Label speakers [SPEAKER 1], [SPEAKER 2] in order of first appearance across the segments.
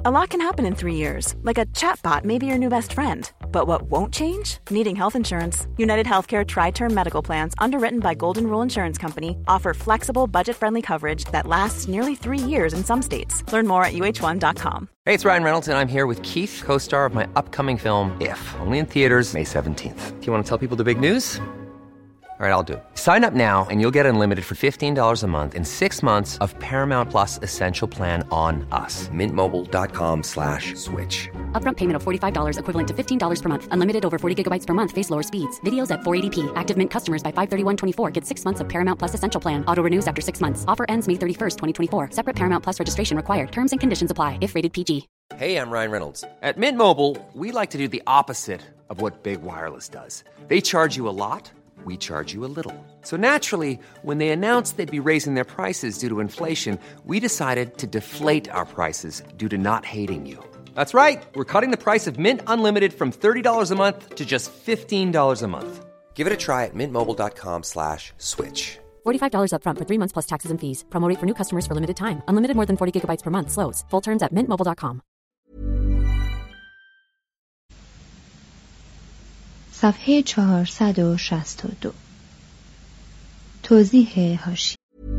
[SPEAKER 1] A lot can happen in 3 years, like a chatbot may be your new best friend. But what won't change? Needing health insurance. United Healthcare Tri-Term Medical Plans, underwritten by Golden Rule Insurance Company, offer flexible, budget-friendly coverage that lasts nearly 3 years in some states. Learn more at uh1.com.
[SPEAKER 2] Hey, it's Ryan Reynolds, and I'm here with Keith, co-star of my upcoming film, If, only in theaters May 17th. Do you want to tell people the big news? All right, I'll do it. Sign up now and you'll get unlimited for $15 a month and 6 months of Paramount Plus Essential Plan on us. MintMobile.com/switch.
[SPEAKER 3] Upfront payment of $45 equivalent to $15 per month. Unlimited over 40 gigabytes per month. Face lower speeds. Videos at 480p. Active Mint customers by 531.24 get 6 months of Paramount Plus Essential Plan. Auto renews after 6 months. Offer ends May 31st, 2024. Separate Paramount Plus registration required. Terms and conditions apply if rated PG.
[SPEAKER 2] Hey, I'm Ryan Reynolds. At Mint Mobile, we like to do the opposite of what Big Wireless does. They charge you a lot. We charge you a little. So naturally, when they announced they'd be raising their prices due to inflation, we decided to deflate our prices due to not hating you. That's right. We're cutting the price of Mint Unlimited from $30 a month to just $15 a month. Give it a try at mintmobile.com/switch.
[SPEAKER 3] $45 upfront for 3 months plus taxes and fees. Promo rate for new customers for limited time. Unlimited more than 40 gigabytes per month. Slows full terms at mintmobile.com.
[SPEAKER 4] صفحه 462. توضیح حاشیه.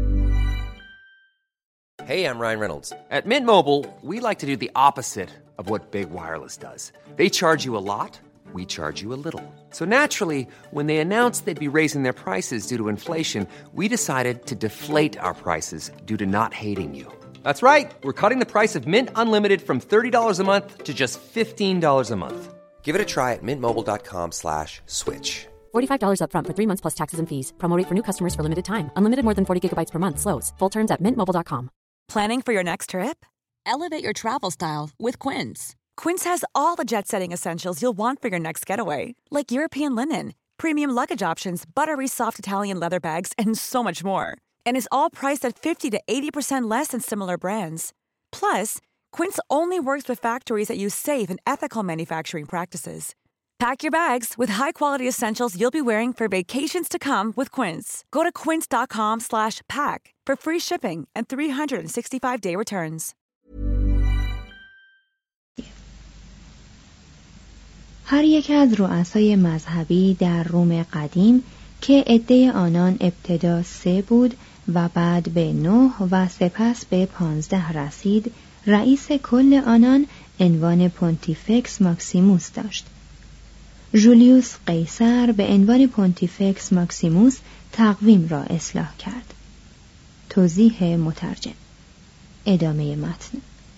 [SPEAKER 2] Hey, I'm Ryan Reynolds. At Mint Mobile, we like to do the opposite of what Big Wireless does. They charge you a lot. We charge you a little. So naturally, when they announced they'd be raising their prices due to inflation, we decided to deflate our prices due to not hating you. That's right. We're cutting the price of Mint Unlimited from $30 a month to just $15 a month. Give it a try at mintmobile.com/switch.
[SPEAKER 3] $45 upfront for 3 months plus taxes and fees. Promo rate for new customers for limited time. Unlimited more than 40 gigabytes per month. Slows full terms at mintmobile.com.
[SPEAKER 1] Planning for your next trip?
[SPEAKER 5] Elevate your travel style with Quince.
[SPEAKER 1] Quince has all the jet-setting essentials you'll want for your next getaway, like European linen, premium luggage options, buttery soft Italian leather bags, and so much more. And is all priced at 50 to 80% less than similar brands. Plus, Quince only works with factories that use safe and ethical manufacturing practices. Pack your bags with high-quality essentials you'll be wearing for vacations to come with Quince. Go to quince.com/pack for free shipping and 365-day returns.
[SPEAKER 4] هر یک از رؤسای مذهبی در روم قدیم که عده آنان ابتدا 3 بود و بعد به 9 و سپس به 15 رسید، رئیس کل آنان عنوان پونتیفکس ماکسیموس داشت. جولیوس قیصر به عنوان پونتیفکس ماکسیموس تقویم را اصلاح کرد. توضیح مترجم. ادامه متن.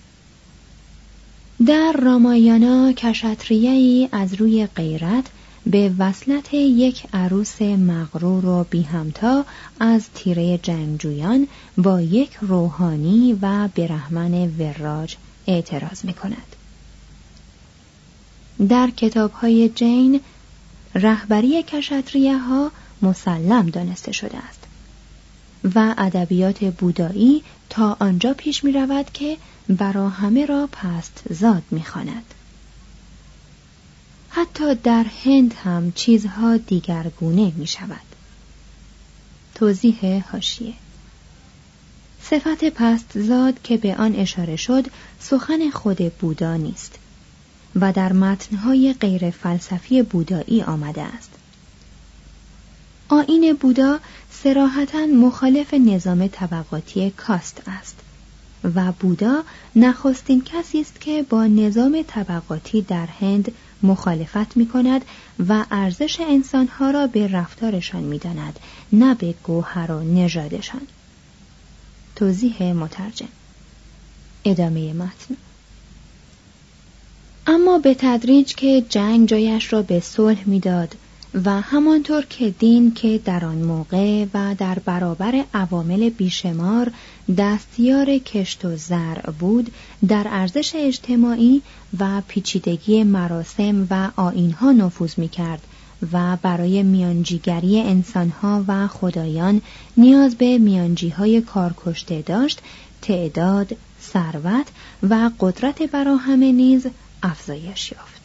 [SPEAKER 4] در رامایانا کشتریه‌ای از روی غیرت به وصلت یک عروس مغرور و بی همتا از تیره جنگجویان با یک روحانی و برهمن وراج اعتراض می کند. در کتاب‌های جین رهبری کشتریه‌ها مسلم دانسته شده است و ادبیات بودایی تا آنجا پیش می رود که برا همه را پست زاد می خواند. حتی در هند هم چیزها دیگرگونه می شود. توضیح حاشیه. صفت پست زاد که به آن اشاره شد سخن خود بودا نیست و در متنهای غیر فلسفی بودایی آمده است. آیین بودا صراحتاً مخالف نظام طبقاتی کاست است و بودا نخستین کسی است که با نظام طبقاتی در هند مخالفت می کند و ارزش انسانها را به رفتارشان می داند، نه به گوهر و نژادشان. توضیح مترجم. ادامه متن. اما به تدریج که جنگ جایش را به صلح می داد و همانطور که دین که در آن موقع و در برابر عوامل بیشمار دستیار کشت و زرع بود، در ارزش اجتماعی و پیچیدگی مراسم و آیین‌ها نفوذ می‌کرد و برای میانجیگری انسان‌ها و خدایان نیاز به میانجی‌های کارکشته داشت، تعداد، ثروت و قدرت برا همه نیز افزایش یافت.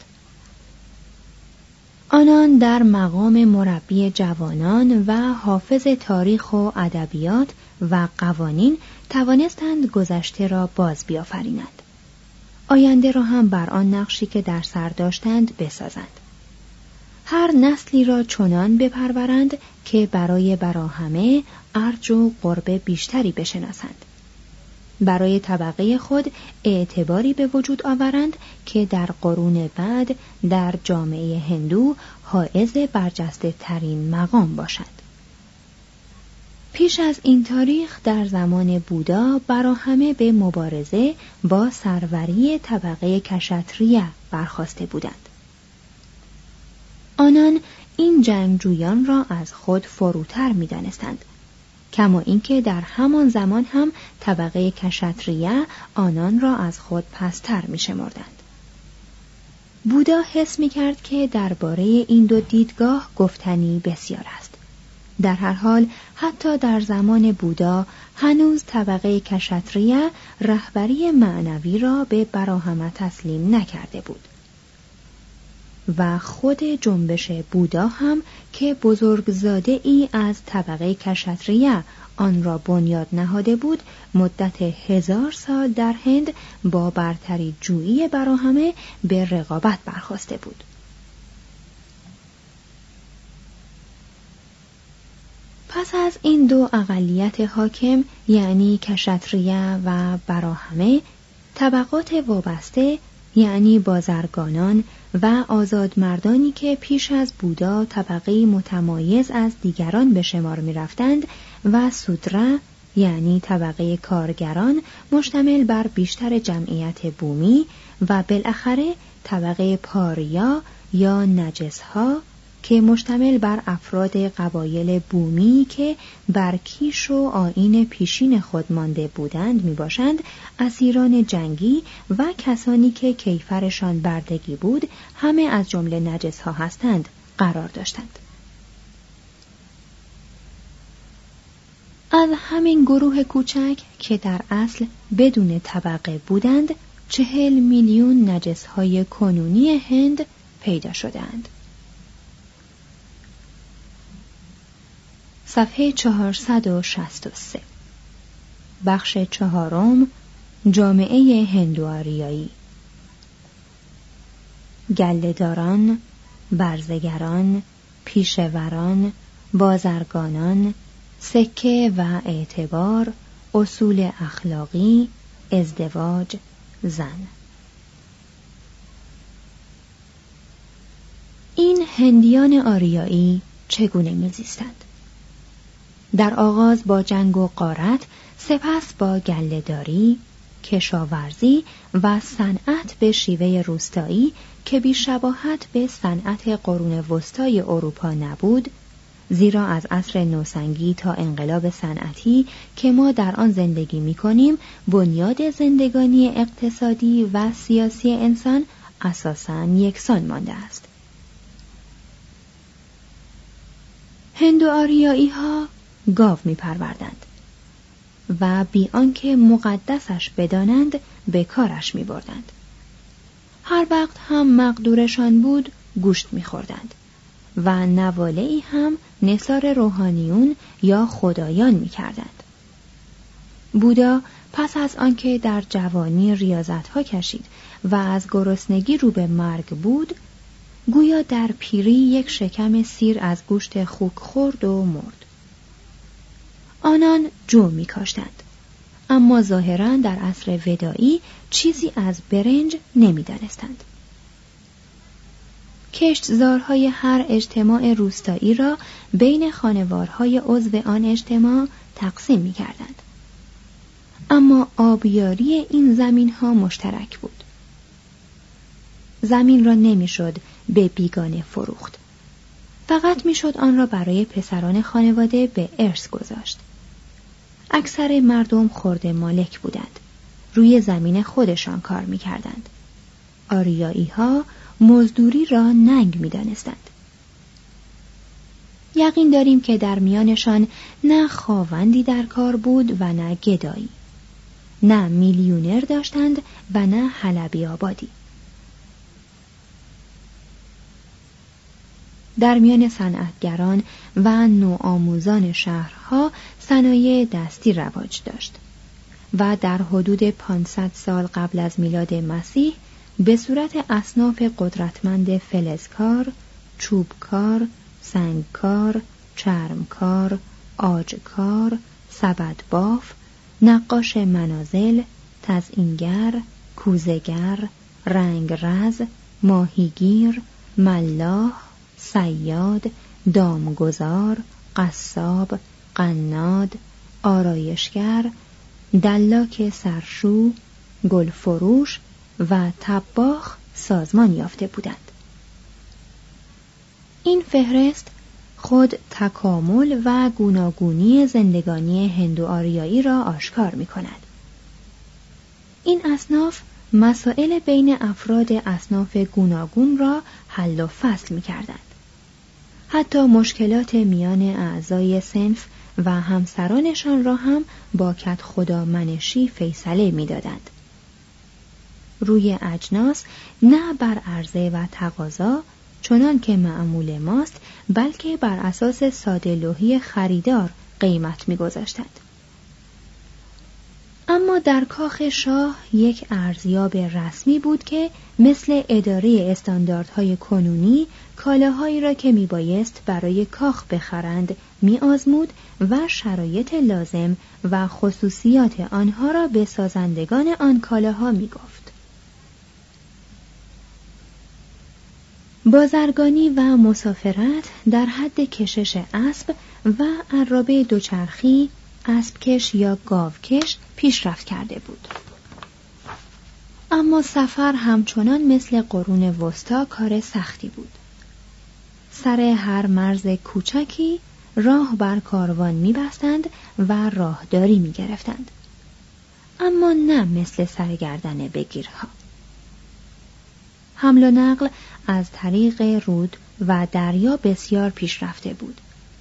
[SPEAKER 4] آنان در مقام مربی جوانان و حافظ تاریخ و ادبیات و قوانین توانستند گذشته را باز بیافرینند. آینده را هم بر آن نقشی که در سر داشتند بسازند. هر نسلی را چنان بپرورند که برای براهمه ارج و قرب بیشتری بشناسند. برای طبقه خود اعتباری به وجود آورند که در قرون بعد در جامعه هندو حائز برجسته ترین مقام باشد. پیش از این تاریخ در زمان بودا براهمه به مبارزه با سروری طبقه کشاتریه برخاسته بودند. آنان این جنگجویان را از خود فروتر می دانستند، کما اینکه در همان زمان هم طبقه کشاتریه آنان را از خود پستر می شمردند. بودا حس می کرد که درباره این دو دیدگاه گفتنی بسیار است. در هر حال حتی در زمان بودا هنوز طبقه کشاتریه رهبری معنوی را به براهمه تسلیم نکرده بود و خود جنبش بودا هم که بزرگزاده ای از طبقه کشاتریه آن را بنیاد نهاده بود، مدت 1000 سال در هند با برتری جویی براهمه به رقابت برخاسته بود. پس از این دو اقلیت حاکم یعنی کشاتریه و براهمه، طبقات وابسته یعنی بازرگانان و آزادمردانی که پیش از بودا طبقه متمایز از دیگران به شمار می رفتند و سودرا یعنی طبقه کارگران مشتمل بر بیشتر جمعیت بومی و بالاخره طبقه پاریا یا نجسها که مشتمل بر افراد قبایل بومی که بر کیش و آیین پیشین خود مانده بودند می باشند، اسیران جنگی و کسانی که کیفرشان بردگی بود همه از جمله نجسها هستند قرار داشتند. از همین گروه کوچک که در اصل بدون طبقه بودند 40 میلیون نجسهای کنونی هند پیدا شدند. صفحه 463 بخش 4 جامعه هندو-آریایی. گله‌داران، برزگران، پیشوران، بازرگانان، سکه و اعتبار، اصول اخلاقی، ازدواج، زن. این هندیان آریایی چگونه می‌زیستند؟ در آغاز با جنگ و غارت، سپس با گله‌داری، کشاورزی و صنعت به شیوه روستایی که بی‌شباهت به صنعت قرون وسطای اروپا نبود، زیرا از عصر نوسنگی تا انقلاب صنعتی که ما در آن زندگی می‌کنیم، بنیاد زندگانی اقتصادی و سیاسی انسان اساساً یکسان مانده است. هندو-آریایی‌ها گاو می‌پروردند و بی آنکه مقدسش بدانند به کارش می‌بردند. هر وقت هم مقدورشان بود گوشت می‌خوردند و نواله‌ای هم نثار روحانیون یا خدایان می‌کردند. بودا پس از آنکه در جوانی ریاضت‌ها کشید و از گرسنگی رو به مرگ بود، گویا در پیری یک شکم سیر از گوشت خوک خورد و مرد. آنان جو می کاشتند، اما ظاهراً در عصر ودایی چیزی از برنج نمی دانستند. کشتزارهای هر اجتماع روستایی را بین خانوارهای عضو آن اجتماع تقسیم می کردند. اما آبیاری این زمینها مشترک بود. زمین را نمی شد به بیگانه فروخت. فقط می شد آن را برای پسران خانواده به ارث گذاشت. اکثر مردم خرده مالک بودند. روی زمین خودشان کار می کردند. آریایی ها مزدوری را ننگ می دانستند. یقین داریم که در میانشان نه خاوندی در کار بود و نه گدایی. نه میلیونر داشتند و نه حلبی آبادی. در میان صنعتگران و نوآموزان شهرها صنایع دستی رواج داشت. و در حدود 500 سال قبل از میلاد مسیح به صورت اصناف قدرتمند فلزکار، چوبکار، سنگکار، چرمکار، عاجکار، سبدباف، نقاش منازل، تزئینگر، کوزه‌گر، رنگرز، ماهیگیر، ملاح، صیاد، دامگذار، قصاب، قناد، آرایشگر، دلاک سرشو، گلفروش و طباخ سازمان یافته بودند. این فهرست خود تکامل و گوناگونی زندگانی هندو آریایی را آشکار می کند. این اصناف مسائل بین افراد اصناف گوناگون را حل و فصل می کردند. حتی مشکلات میان اعضای صنف و همسرانشان را هم با کدخدا منشی فیصله می دادند. روی اجناس نه بر عرضه و تقاضا چنان که معمول ماست، بلکه بر اساس ساده لوحی خریدار قیمت می گذاشتند. اما در کاخ شاه یک ارزیاب رسمی بود که مثل اداره استانداردهای کنونی کالاهایی را که می بایست برای کاخ بخرند می آزمود و شرایط لازم و خصوصیات آنها را به سازندگان آن کالاها می گفت. بازرگانی و مسافرت در حد کشش اسب و عرابه دوچرخی، اسبکش یا گاوکش پیشرفت کرده بود. اما سفر همچنان مثل قرون وسطی کار سختی بود. سر هر مرز کوچکی راه بر کاروان می‌بستند و راهداری می‌گرفتند. اما نه مثل سرگردن بگیرها. حمل و نقل از طریق رود و دریا بسیار پیشرفته بود.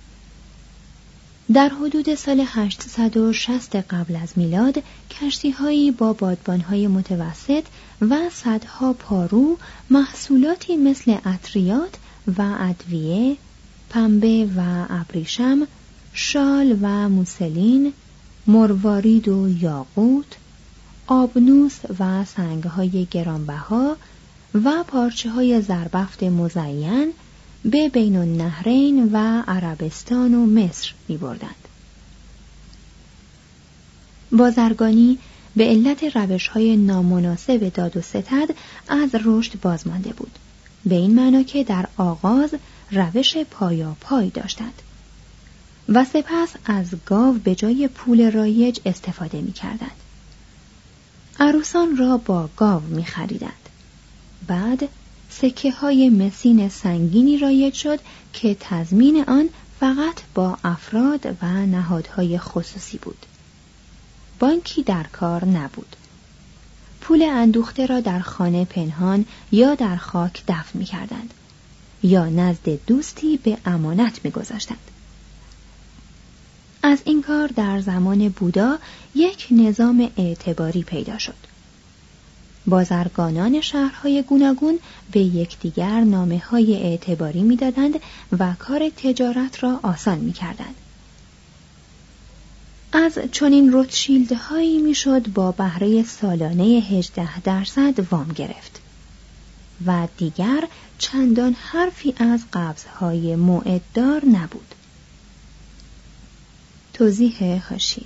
[SPEAKER 4] در حدود سال 860 قبل از میلاد کشتی‌هایی با بادبان‌های متوسط و صدها پارو محصولاتی مثل عطریات و ادویه، پنبه و ابریشم، شال و موسلین، مروارید و یاقوت، آبنوس و سنگ‌های گرانبها و پارچه‌های زربفت مزین به بین النهرین و عربستان و مصر می بردند. بازرگانی به علت روش‌های نامناسب داد و ستد از رشد بازمانده بود، به این معنا که در آغاز روش پایاپای داشتند و سپس از گاو به جای پول رایج استفاده می کردند. عروسان را با گاو می خریدند. بعد سکه های مسین سنگینی رایج شد که تضمین آن فقط با افراد و نهادهای خصوصی بود. بانکی در کار نبود. پول اندوخته را در خانه پنهان یا در خاک دفن می کردند یا نزد دوستی به امانت می گذاشتند. از این کار در زمان بودا یک نظام اعتباری پیدا شد. بازرگانان شهرهای گوناگون به یکدیگر نامه‌های اعتباری می‌دادند و کار تجارت را آسان می‌کردند. از چنین روتشیلدهایی میشد با بهره سالانه 18% وام گرفت و دیگر چندان حرفی از قبض‌های موعددار نبود. توضیح حاشیه: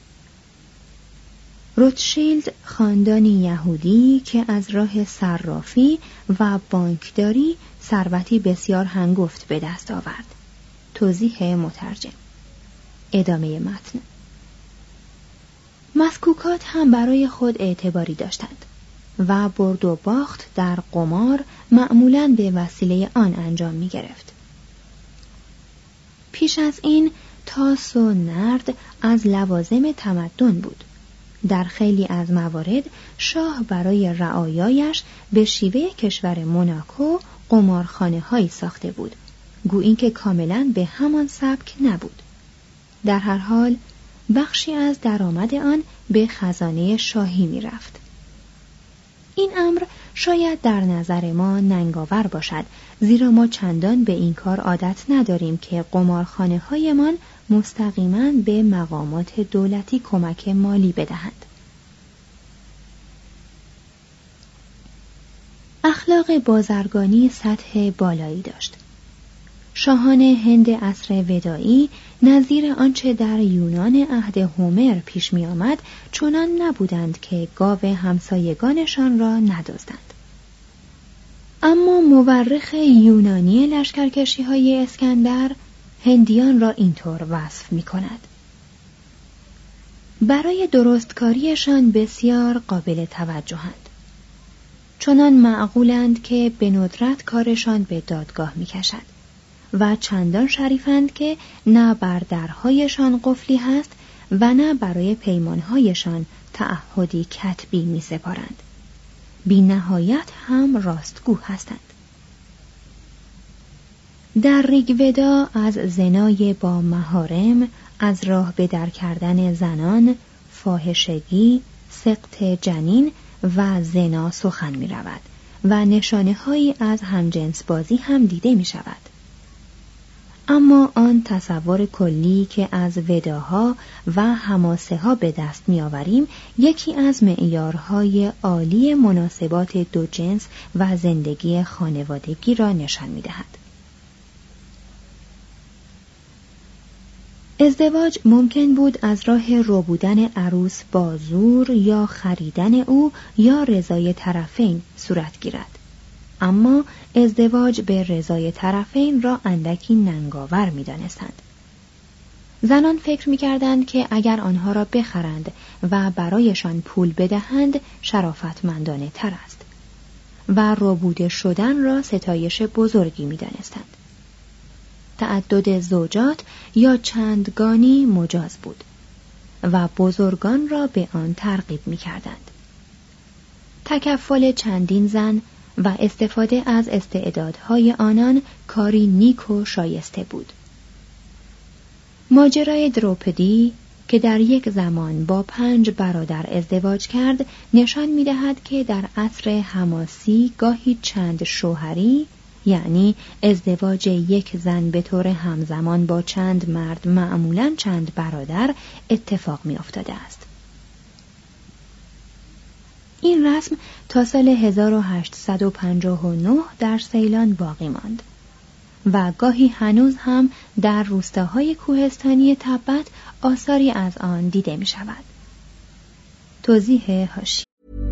[SPEAKER 4] روتشیلد خاندانی یهودی که از راه صرافی و بانکداری ثروتی بسیار هنگفت به دست آورد. توضیح مترجم. ادامه متن. مسکوکات هم برای خود اعتباری داشتند و برد و باخت در قمار معمولاً به وسیله آن انجام می گرفت. پیش از این تاس و نرد از لوازم تمدن بود. در خیلی از موارد شاه برای رعایایش به شیوه کشور موناکو قمارخانه‌هایی ساخته بود، گویی که کاملاً به همان سبک نبود. در هر حال بخشی از درآمد آن به خزانه شاهی می رفت. این امر شاید در نظر ما ننگاور باشد، زیرا ما چندان به این کار عادت نداریم که قمارخانه‌هایمان مستقیما به مقامات دولتی کمک مالی بدهند. اخلاق بازرگانی سطح بالایی داشت. شاهان هند عصر ودایی نظیر آنچه در یونان عهد هومر پیش می آمد چنان نبودند که گاو همسایگانشان را ندزدند. اما مورخ یونانی لشکرکشی های اسکندر هندیان را اینطور وصف می کند: برای درستکاریشان بسیار قابل توجهند، چنان معقولند که به ندرت کارشان به دادگاه می کشد و چندان شریفند که نه بر درهایشان قفلی هست و نه برای پیمانهایشان تعهدی کتبی می سپارند. بی نهایت هم راستگو هستند. در ریگودا از زنای با محارم، از راه به در کردن زنان، فاحشگی، سقط جنین و زنا سخن می رود و نشانه هایی از همجنس بازی هم دیده می شود. اما آن تصور کلی که از وداها و حماسه ها به دست می آوریم یکی از معیارهای عالی مناسبات دو جنس و زندگی خانوادگی را نشان می دهد. ازدواج ممکن بود از راه ربودن عروس با زور یا خریدن او یا رضای طرفین صورت گیرد. اما ازدواج به رضای طرفین را اندکی ننگاور می دانستند. زنان فکر می کردند که اگر آنها را بخرند و برایشان پول بدهند شرافتمندانه تر است و ربوده شدن را ستایش بزرگی می دانستند. تعدد زوجات یا چندگانی مجاز بود و بزرگان را به آن ترغیب می کردند. تکفل چندین زن و استفاده از استعدادهای آنان کاری نیک و شایسته بود. ماجرای دروپدی که در یک زمان با 5 برادر ازدواج کرد نشان می‌دهد که در عصر حماسی گاهی چند شوهری، یعنی ازدواج یک زن به طور همزمان با چند مرد، معمولاً چند برادر، اتفاق می‌افتاده است. این رسم تا سال 1859 در سیلان باقی ماند و گاهی هنوز هم در روستاهای کوهستانی تبت آثاری از آن دیده می شود. توضیح حاشیه.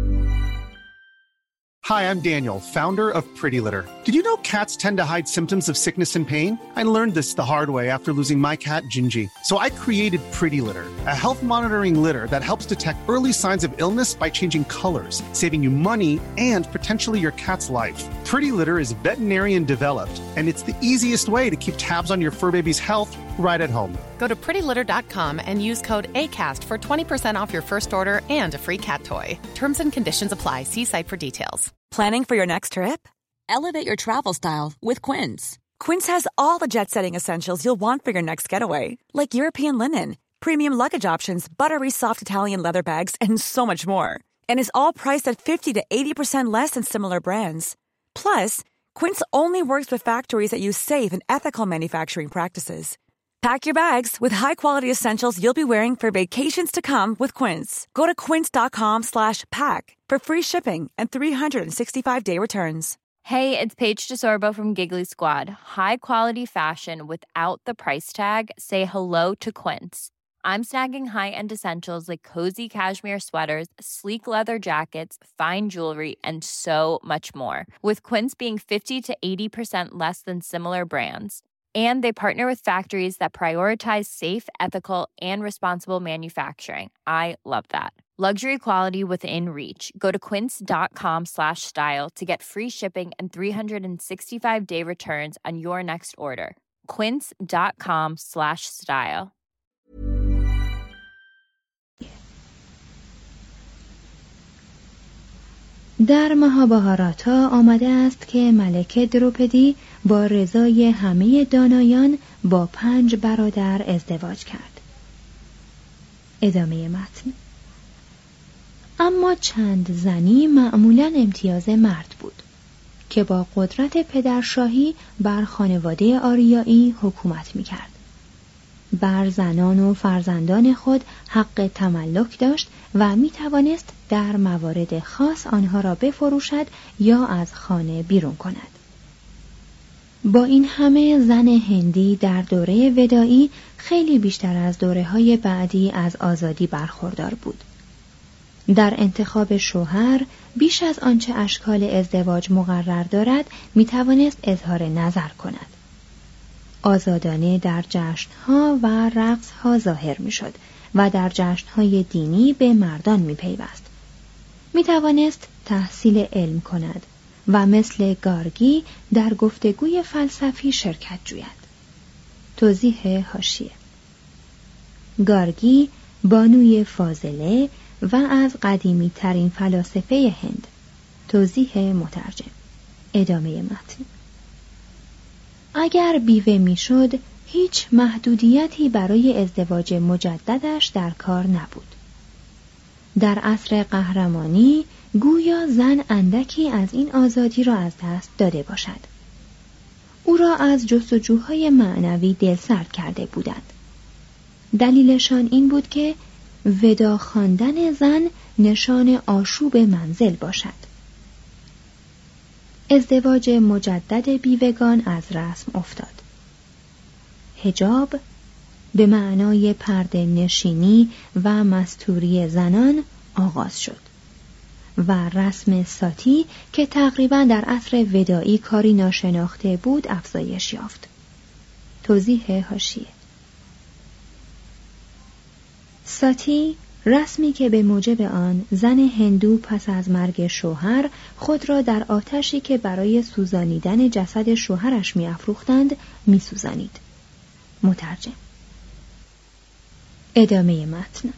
[SPEAKER 6] Hi, I'm Daniel, founder of Pretty Litter. Did you know cats tend to hide symptoms of sickness and pain? I learned this the hard way after losing my cat, Gingy. So I created Pretty Litter, a health monitoring litter that helps detect early signs of illness by changing colors, saving you money and potentially your cat's life. Pretty Litter is veterinarian developed, and it's the easiest way to keep tabs on your fur baby's health right at home.
[SPEAKER 7] Go to prettylitter.com and use code ACAST for 20% off your first order and a free cat toy. Terms and conditions apply. See site for details.
[SPEAKER 1] Planning for your next trip?
[SPEAKER 5] Elevate your travel style with Quince.
[SPEAKER 1] Quince has all the jet-setting essentials you'll want for your next getaway, like European linen, premium luggage options, buttery soft Italian leather bags, and so much more. And is all priced at 50 to 80% less than similar brands. Plus, Quince only works with factories that use safe and ethical manufacturing practices. Pack your bags with high-quality essentials you'll be wearing for vacations to come with Quince. Go to quince.com/pack for free shipping and 365-day returns.
[SPEAKER 8] Hey, it's Paige DeSorbo from Giggly Squad. High quality fashion without the price tag. Say hello to Quince. I'm snagging high-end essentials like cozy cashmere sweaters, sleek leather jackets, fine jewelry, and so much more. With Quince being 50 to 80% less than similar brands. And they partner with factories that prioritize safe, ethical, and responsible manufacturing. I love that. Luxury quality within reach. Go to quince.com/style to get free shipping and 365-day returns on your next order. quince.com/style.
[SPEAKER 4] در مهابهاراتا آمده است که ملکه دروپدی با رضای همه دانایان با 5 برادر ازدواج کرد. ادامه متن. اما چند زنی معمولاً امتیاز مرد بود که با قدرت پدرشاهی بر خانواده آریایی حکومت می‌کرد. بر زنان و فرزندان خود حق تملک داشت و می توانست در موارد خاص آنها را بفروشد یا از خانه بیرون کند. با این همه زن هندی در دوره ودائی خیلی بیشتر از دوره‌های بعدی از آزادی برخوردار بود. در انتخاب شوهر بیش از آنچه اشکال ازدواج مقرر دارد می توانست اظهار نظر کند. آزادانه در جشنها و رقصها ظاهر می شد و در جشنهای دینی به مردان می پیوست. می توانست تحصیل علم کند و مثل گارگی در گفتگوی فلسفی شرکت جوید. توضیح حاشیه: گارگی بانوی فاضله و از قدیمی ترین فلاسفه هند. توضیح مترجم. ادامه متن. اگر بیوه میشد، هیچ محدودیتی برای ازدواج مجددش در کار نبود. در عصر قهرمانی گویا زن اندکی از این آزادی را از دست داده باشد. او را از جستجوهای معنوی دلسرد کرده بودند. دلیلشان این بود که ودا خواندن زن نشان آشوب منزل باشد. ازدواج مجدد بیوگان از رسم افتاد. حجاب به معنای پرده نشینی و مستوری زنان آغاز شد و رسم ساتی که تقریباً در عصر ودائی کاری ناشناخته بود افزایش یافت. توضیح حاشیه: ساتی رسمی که به موجب آن زن هندو پس از مرگ شوهر خود را در آتشی که برای سوزانیدن جسد شوهرش می‌افروختند می‌سوزانید. مترجم. ادامه متن.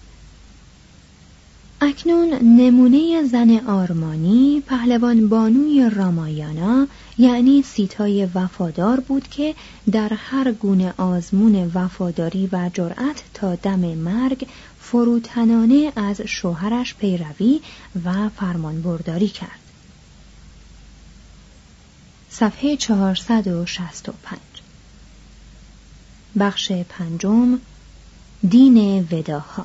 [SPEAKER 4] اکنون نمونه زن آرمانی پهلوان بانوی رامایانا یعنی سیتای وفادار بود که در هر گونه آزمون وفاداری و جرأت تا دم مرگ فروتنانه از شوهرش پیروی و فرمانبرداری کرد. صفحه 465. بخش پنجم. دین وداها.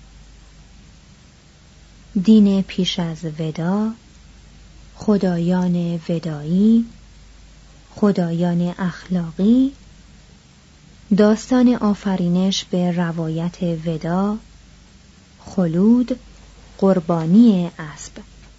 [SPEAKER 4] دین پیش از ودا، خدایان ودایی، خدایان اخلاقی، داستان آفرینش به روایت ودا، خلود، قربانی اسب.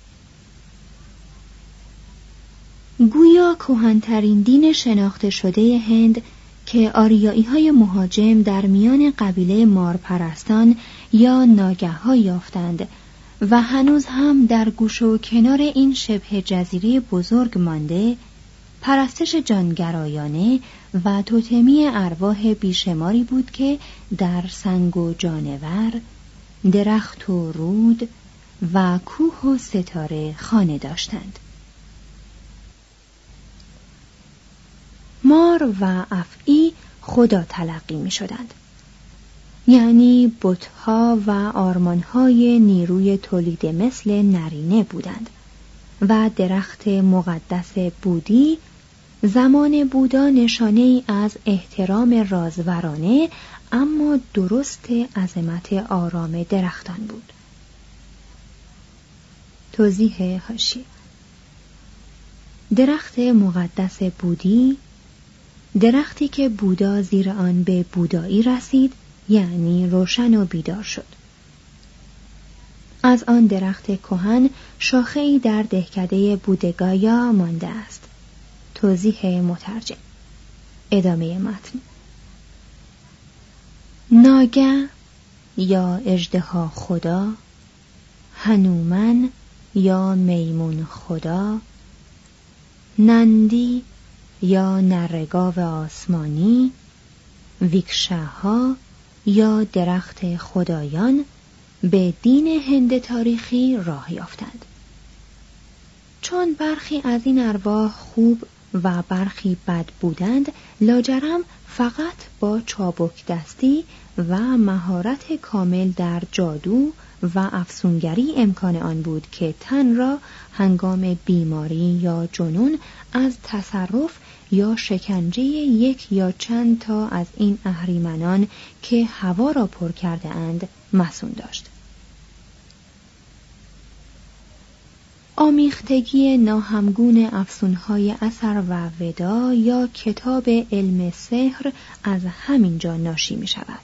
[SPEAKER 4] گویا کهن‌ترین دین شناخته شده هند که آریایی‌های مهاجم در میان قبیله مارپرستان یا ناگه‌ها یافتند و هنوز هم در گوش و کنار این شبه جزیره بزرگ مانده، پرستش جانگرایانه و توتمی ارواح بیشماری بود که در سنگ و جانور، درخت و رود و کوه و ستاره خانه داشتند. مار و افعی خدا تلقی می شدند، یعنی بت‌ها و آرمان‌های نیروی تولید مثل نرینه بودند و درخت مقدس بودی زمان بودا نشانه‌ای از احترام رازورانه اما درست عظمت آرام درختان بود. توضیح حاشیه: درخت مقدس بودی، درختی که بودا زیر آن به بودایی رسید، یعنی روشن و بیدار شد. از آن درخت کهن شاخه‌ای در دهکده بودگایا مانده است. توضیح مترجم. ادامه متن. ناگه یا اژدها خدا، هنومن یا میمون خدا، نندی یا نرگاو آسمانی، ویکشاها یا درخت خدایان به دین هند تاریخی راه یافتند. چون برخی از این ارواح خوب و برخی بد بودند، لاجرم فقط با چابک دستی و مهارت کامل در جادو و افسونگری امکان آن بود که تن را هنگام بیماری یا جنون از تصرف یا شکنجه یک یا چند تا از این اهریمنان که هوا را پر کرده اند مصون داشت. آمیختگی ناهمگون افسونهای اثر و ودا یا کتاب علم سحر از همین جا ناشی می شود.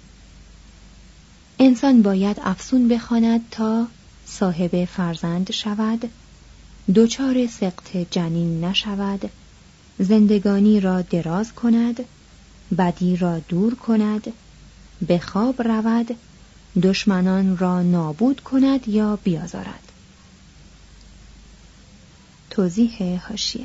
[SPEAKER 4] انسان باید افسون بخواند تا صاحب فرزند شود، دچار سقط جنین نشود، زندگانی را دراز کند، بدی را دور کند، به خواب رود، دشمنان را نابود کند یا بیازارد. توضیح حاشیه: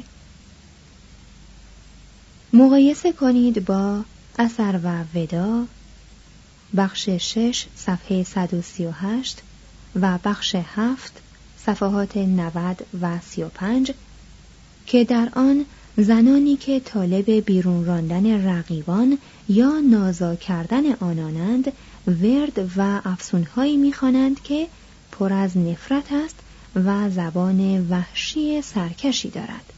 [SPEAKER 4] مقایسه کنید با اثر و ودا بخش 6 صفحه 138 و بخش 7 صفحات 90 و 35 که در آن زنانی که طالب بیرون راندن رقیبان یا نازا کردن آنانند ورد و افسونهایی می‌خوانند که پر از نفرت است و زبان وحشی سرکشی دارد.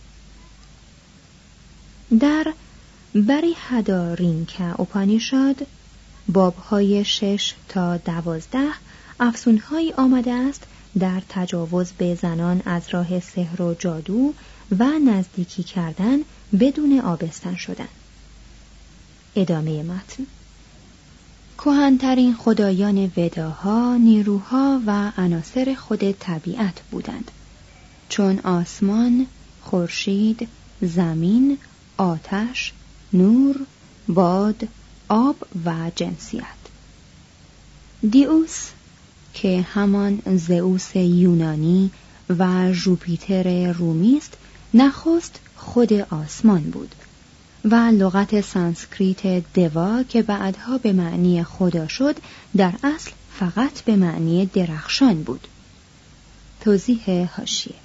[SPEAKER 4] در بریهدارینکا اپانیشاد بابهای 6 تا 12 افسونهایی آمده است در تجاوز به زنان از راه سحر و جادو و نزدیکی کردن بدون آبستن شدن. ادامه متن: کهن‌ترین خدایان وداها نیروها و عناصر خود طبیعت بودند، چون آسمان، خورشید، زمین، آتش، نور، باد، آب و جنسیت. دیوس که همان زئوس یونانی و ژوپیتر رومی است، نخست خود آسمان بود و لغت سانسکریت دوا که بعدها به معنی خدا شد در اصل فقط به معنی درخشان بود. توضیح حاشیه: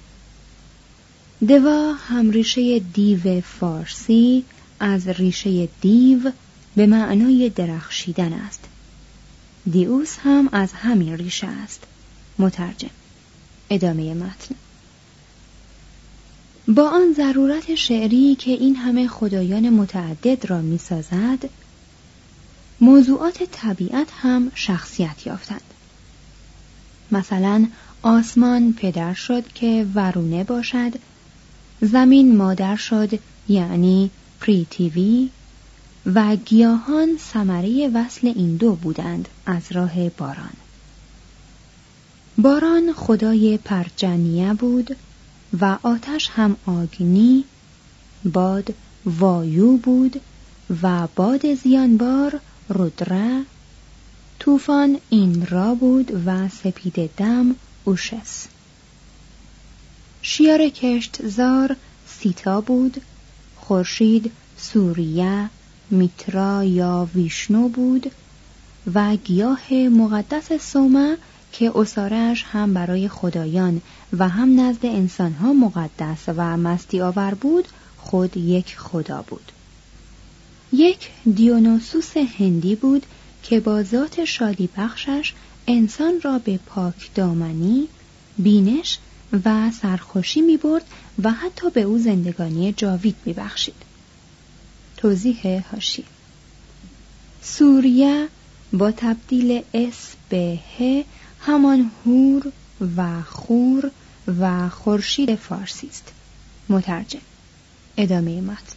[SPEAKER 4] دوا هم ریشه دیو فارسی از ریشه دیو به معنای درخشیدن است. دیوس هم از همین ریشه است. مترجم. ادامه متن: با آن ضرورت شعری که این همه خدایان متعدد را می سازد، موضوعات طبیعت هم شخصیت یافتند. مثلا آسمان پدر شد که ورونه باشد، زمین مادر شد یعنی پریتیوی و گیاهان ثمره وصل این دو بودند از راه باران. باران خدای پرجنیه بود و آتش هم آگنی، باد وایو بود و باد زیانبار رودرا، طوفان این را بود و سپید دم اوشس. شیار کشتزار سیتا بود، خورشید سوریه، میترا یا ویشنو بود و گیاه مقدس سوما که عصاره‌اش هم برای خدایان و هم نزد انسانها مقدس و مستی آور بود خود یک خدا بود. یک دیونوسوس هندی بود که با ذات شادی بخشش انسان را به پاک دامنی، بینش و سرخوشی می برد و حتی به او زندگانی جاوید می بخشید. توضیح حاشیه: سوریه با تبدیل اس به ه همان هور و خور و خورشید فارسی است. مترجم. ادامه متن: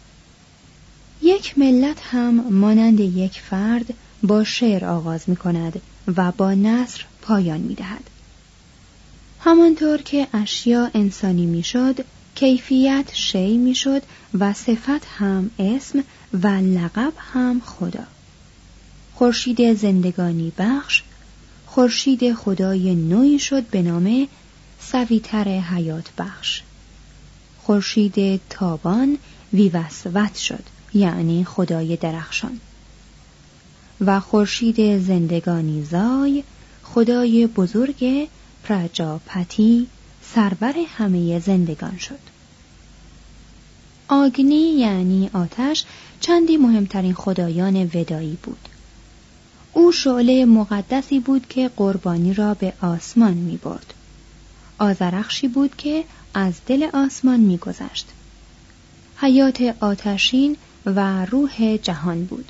[SPEAKER 4] یک ملت هم مانند یک فرد با شعر آغاز می کند و با نثر پایان می دهد. همانطور که اشیا انسانی می شد، کیفیت شی می شد و صفت هم اسم و لقب هم خدا. خورشید زندگانی بخش، خورشید خدای نوعی شد به نام سویتر حیات بخش. خورشید تابان ویوسوت شد یعنی خدای درخشان و خورشید زندگانی زای خدای بزرگ پراجاپتی سرور همه زندگان شد. آگنی یعنی آتش چندی مهمترین خدایان ودایی بود. او شعله مقدسی بود که قربانی را به آسمان می برد. آذرخشی بود که از دل آسمان می گذشت. حیات آتشین و روح جهان بود.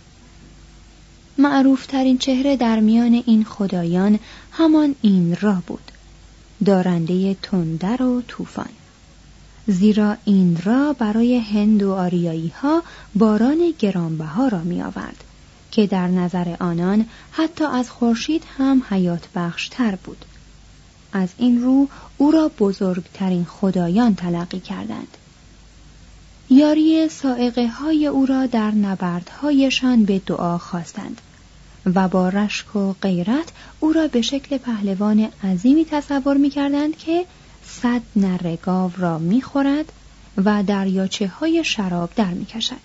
[SPEAKER 4] معروفترین چهره در میان این خدایان همان ایندرا بود، دارنده تندر و طوفان. زیرا ایندرا برای هند و آریایی ها باران گرانبها را می آورد که در نظر آنان حتی از خورشید هم حیات بخشتر بود. از این رو او را بزرگترین خدایان تلقی کردند. یاری سائقه های او را در نبردهایشان به دعا خواستند و با رشک و غیرت او را به شکل پهلوان عظیمی تصور می کردند که 100 نره گاو را می خورد و دریاچه های شراب در می کشد.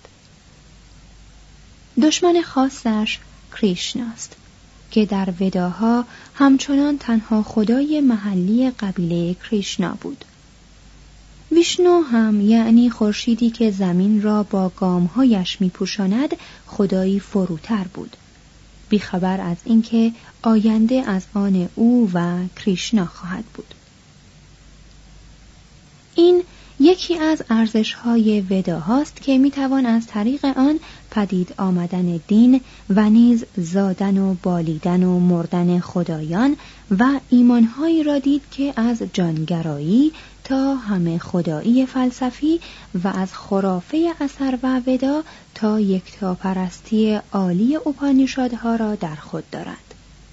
[SPEAKER 4] دشمن خاصش کریشناست که در وداها همچنان تنها خدای محلی قبیله کریشنا بود. ویشنو هم یعنی خورشیدی که زمین را با گامهایش می پوشاند خدایی فروتر بود، بیخبر از اینکه آینده از آن او و کریشنا خواهد بود. این یکی از ارزش‌های وداهاست که می‌توان از طریق آن پدید آمدن دین و نیز زادن و بالیدن و مردن خدایان و ایمان‌هایی را دید که از جانگرایی تا همه خدایی فلسفی و از خرافه اثر و ودا تا یکتاپرستی عالی اپانیشادها را در خود دارد.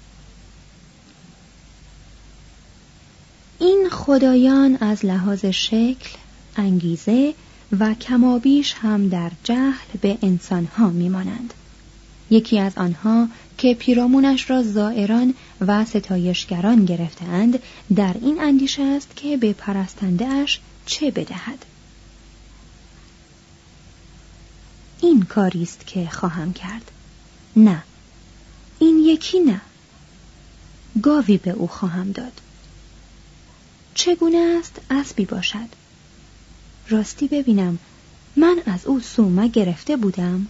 [SPEAKER 4] این خدایان از لحاظ شکل، انگیزه و کمابیش هم در جهل به انسانها میمانند. یکی از آنها که پیرامونش را زائران و ستایشگران گرفتند در این اندیشه است که به پرستنده اش چه بدهد. این کاریست که خواهم کرد. نه، این یکی نه. گاوی به او خواهم داد. چگونه است اسبی باشد؟ راستی ببینم، من از او سومه گرفته بودم؟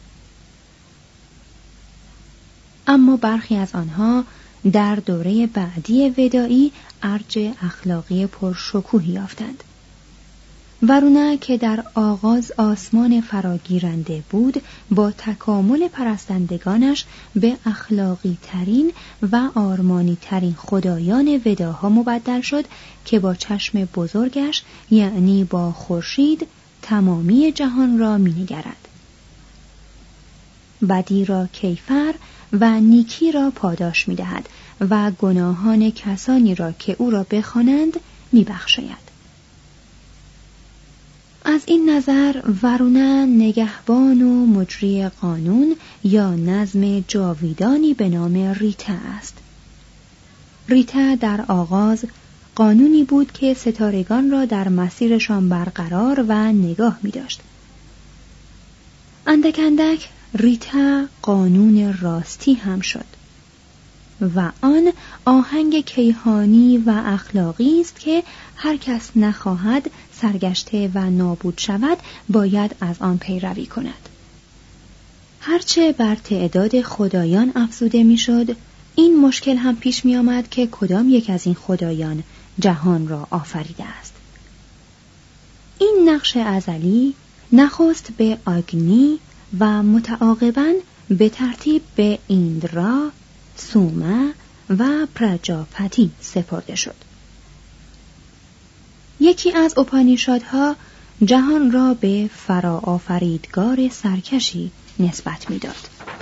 [SPEAKER 4] اما برخی از آنها در دوره بعدی ودایی ارج اخلاقی پرشکوهی یافتند. ورونه که در آغاز آسمان فراگیرنده بود، با تکامل پرستندگانش به اخلاقی ترین و آرمانی ترین خدایان وداها مبدل شد که با چشم بزرگش یعنی با خورشید تمامی جهان را می‌نگرد. بدی را کیفر و نیکی را پاداش می‌دهد و گناهان کسانی را که او را بخوانند می‌بخشاید. از این نظر ورونه نگهبان و مجری قانون یا نظم جاویدانی به نام ریتا است. ریتا در آغاز قانونی بود که ستارگان را در مسیرشان برقرار و نگاه می داشت. اندک اندک ریتا قانون راستی هم شد و آن آهنگ کیهانی و اخلاقی است که هر کس نخواهد سرگشته و نابود شود باید از آن پیروی کند. هرچه بر تعداد خدایان افزوده میشد، این مشکل هم پیش می آمد که کدام یک از این خدایان جهان را آفریده است. این نقش ازلی نخست به آگنی و متعاقباً به ترتیب به ایندرا، سوما و پراجاپتی سپرده شد. یکی از اپانیشادها جهان را به فراآفریدگار سرکشی نسبت می‌داد.